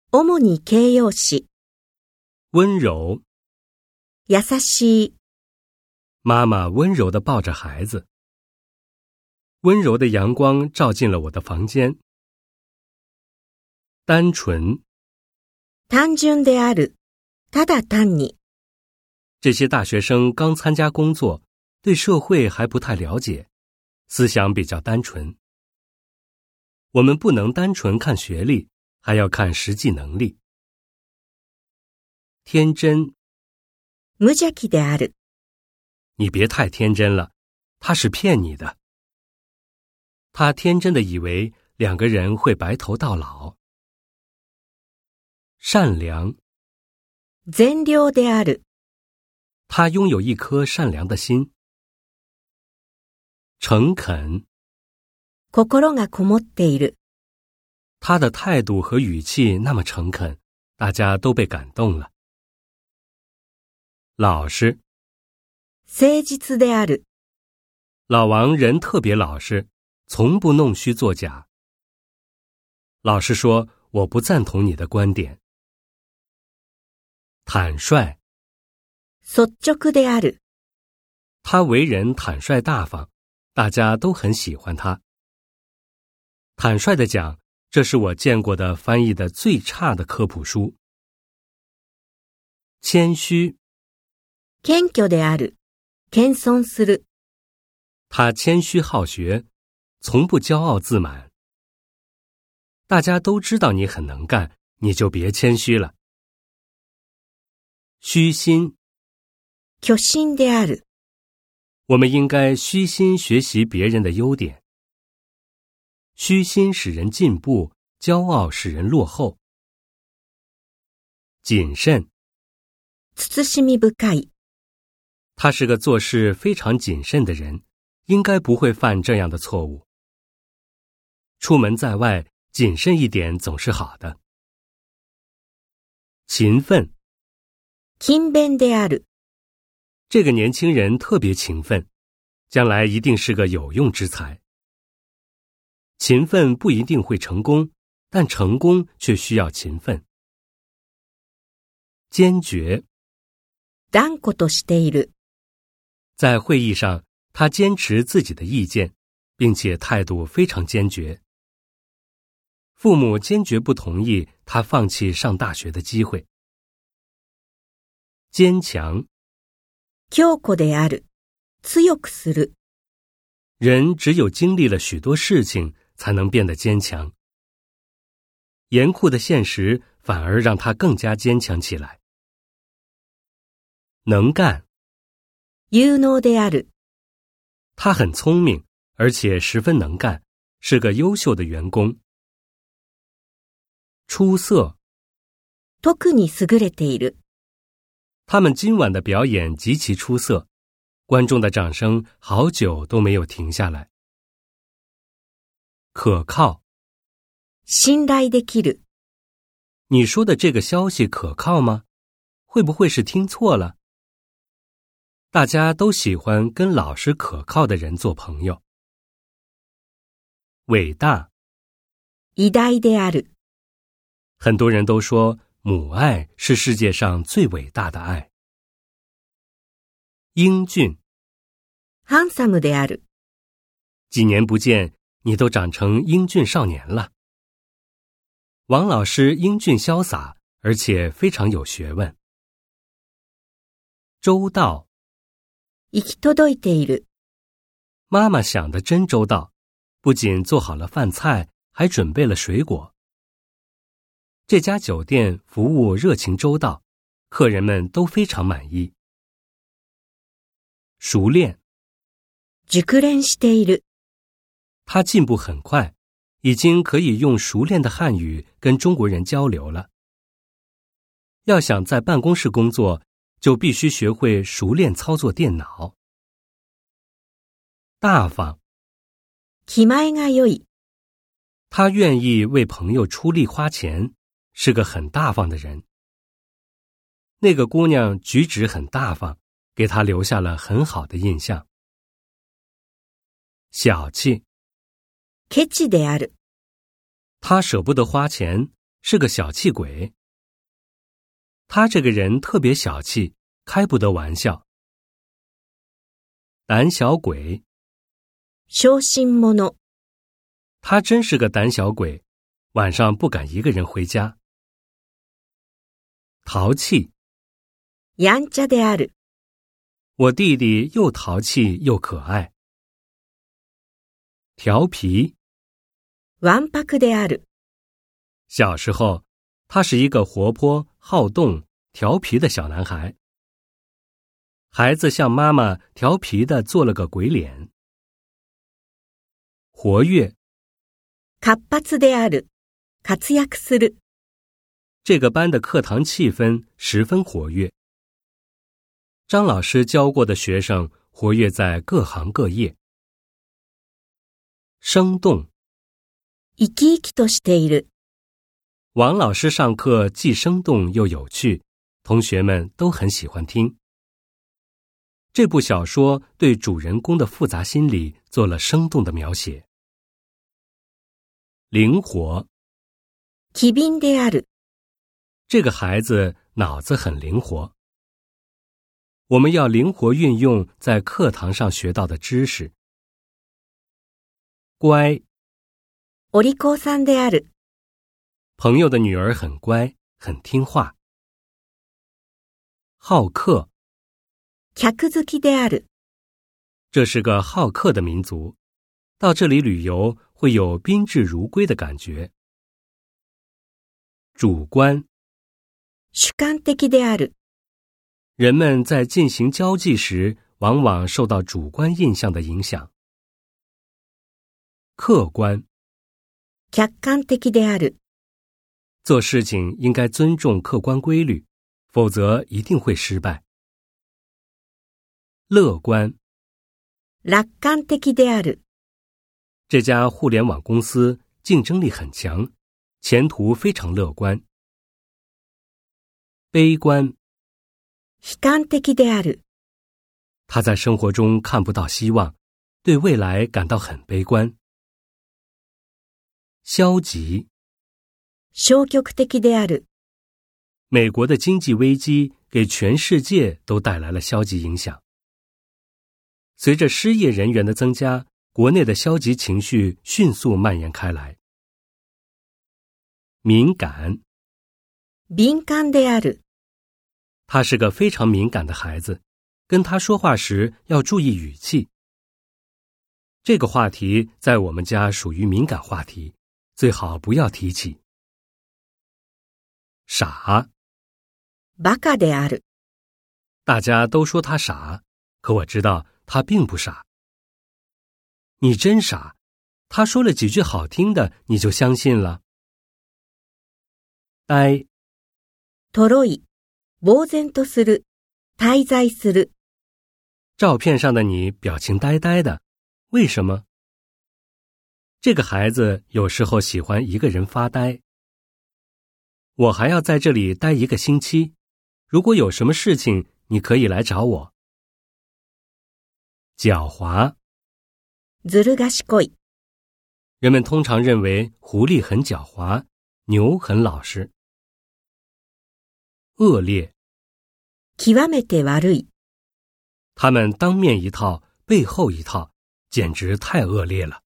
主に形容詞。 温柔。 優しい。 妈妈温柔地抱着孩子。温柔的阳光照进了我的房间。单纯。 単純である。ただ単に。 这些大学生刚参加工作，对社会还不太了解，思想比较单纯。我们不能单纯看学历，还要看实际能力。天真。 無邪気である。 你别太天真了，他是骗你的。他天真的以为两个人会白头到老。善良。 善良である。 他拥有一颗善良的心。诚恳。 心がこもっている。 他的态度和语气那么诚恳，大家都被感动了。老实。 誠実である。 老王人特别老实，从不弄虚作假。老实说，我不赞同你的观点。坦率。 率直である。 他为人坦率大方，大家都很喜欢他。坦率地讲，这是我见过的翻译的最差的科普书。谦虚。 謙虚である。謙遜する。 他谦虚好学，从不骄傲自满。大家都知道你很能干，你就别谦虚了。虚心。 虚心である。 我们应该虚心学习别人的优点。虚心使人进步，骄傲使人落后。谨慎。 慎み深い。 他是个做事非常谨慎的人，应该不会犯这样的错误。出门在外，谨慎一点总是好的。勤奋。 勤勉である。 这个年轻人特别勤奋，将来一定是个有用之才。勤奋不一定会成功，但成功却需要勤奋。坚决。 断固としている。 在会议上，他坚持自己的意见，并且态度非常坚决。父母坚决不同意他放弃上大学的机会。坚强。 強固である。強くする。 人只有经历了许多事情，才能变得坚强。严酷的现实反而让他更加坚强起来。能干。 有能である。 他很聪明，而且十分能干，是个优秀的员工。出色。 特に優れている。 他们今晚的表演极其出色，观众的掌声好久都没有停下来。可靠。 信頼できる。 你说的这个消息可靠吗？会不会是听错了？大家都喜欢跟老实可靠的人做朋友。伟大。 偉大である。 很多人都说母爱是世界上最伟大的爱。英俊。 ハンサムである。 几年不见，你都长成英俊少年了。王老师英俊潇洒，而且非常有学问。周到。 行き届いている。 妈妈想得真周到，不仅做好了饭菜，还准备了水果。这家酒店服务热情周到，客人们都非常满意。熟练。 熟練している。 他进步很快，已经可以用熟练的汉语跟中国人交流了。要想在办公室工作，就必须学会熟练操作电脑。大方。 気前が良い。 他愿意为朋友出力花钱，是个很大方的人。那个姑娘举止很大方，给他留下了很好的印象。小气。 ケチである。 他舍不得花钱， 是个小气鬼。他这个人特别小气，开不得玩笑。胆小鬼， 小心者。 他真是个胆小鬼，晚上不敢一个人回家。淘气， やんちゃである。 我弟弟又淘气又可爱。调皮， わんぱくである。 小时候，他是一个活泼、好动、调皮的小男孩。孩子向妈妈调皮地做了个鬼脸。活跃， 活発である。活躍する。 这个班的课堂气氛十分活跃。张老师教过的学生活跃在各行各业。生动， 生き生きとしている。 王老师上课既生动又有趣，同学们都很喜欢听。这部小说对主人公的复杂心理做了生动的描写。灵活， 機敏である。 这个孩子脑子很灵活。我们要灵活运用在课堂上学到的知识。乖， お利口さんである。 朋友的女儿很乖，很听话。好客， 客好きである。 这是个好客的民族，到这里旅游会有宾至如归的感觉。主观， 主観的である。 人们在进行交际时，往往受到主观印象的影响。客观， 客観的である。 做事情应该尊重客观规律，否则一定会失败。乐观， 楽観的である。 这家互联网公司竞争力很强，前途非常乐观。悲观， 悲観的である。 他在生活中看不到希望，对未来感到很悲观。消极， 消極的である。 美国的经济危机给全世界都带来了消极影响。随着失业人员的增加，国内的消极情绪迅速蔓延开来。敏感， 敏感である。 他是个非常敏感的孩子，跟他说话时要注意语气。这个话题在我们家属于敏感话题，最好不要提起。傻， バカである。 大家都说他傻，可我知道他并不傻。你真傻，他说了几句好听的，你就相信了。呆， とろい。呆然とする。滞在する。 照片上的你表情呆呆的，为什么？这个孩子有时候喜欢一个人发呆。我还要在这里待1个星期，如果有什么事情，你可以来找我。狡猾， ずる賢い。 人们通常认为狐狸很狡猾，牛很老实。恶劣， 極めて悪い。 他们当面一套，背后一套，简直太恶劣了。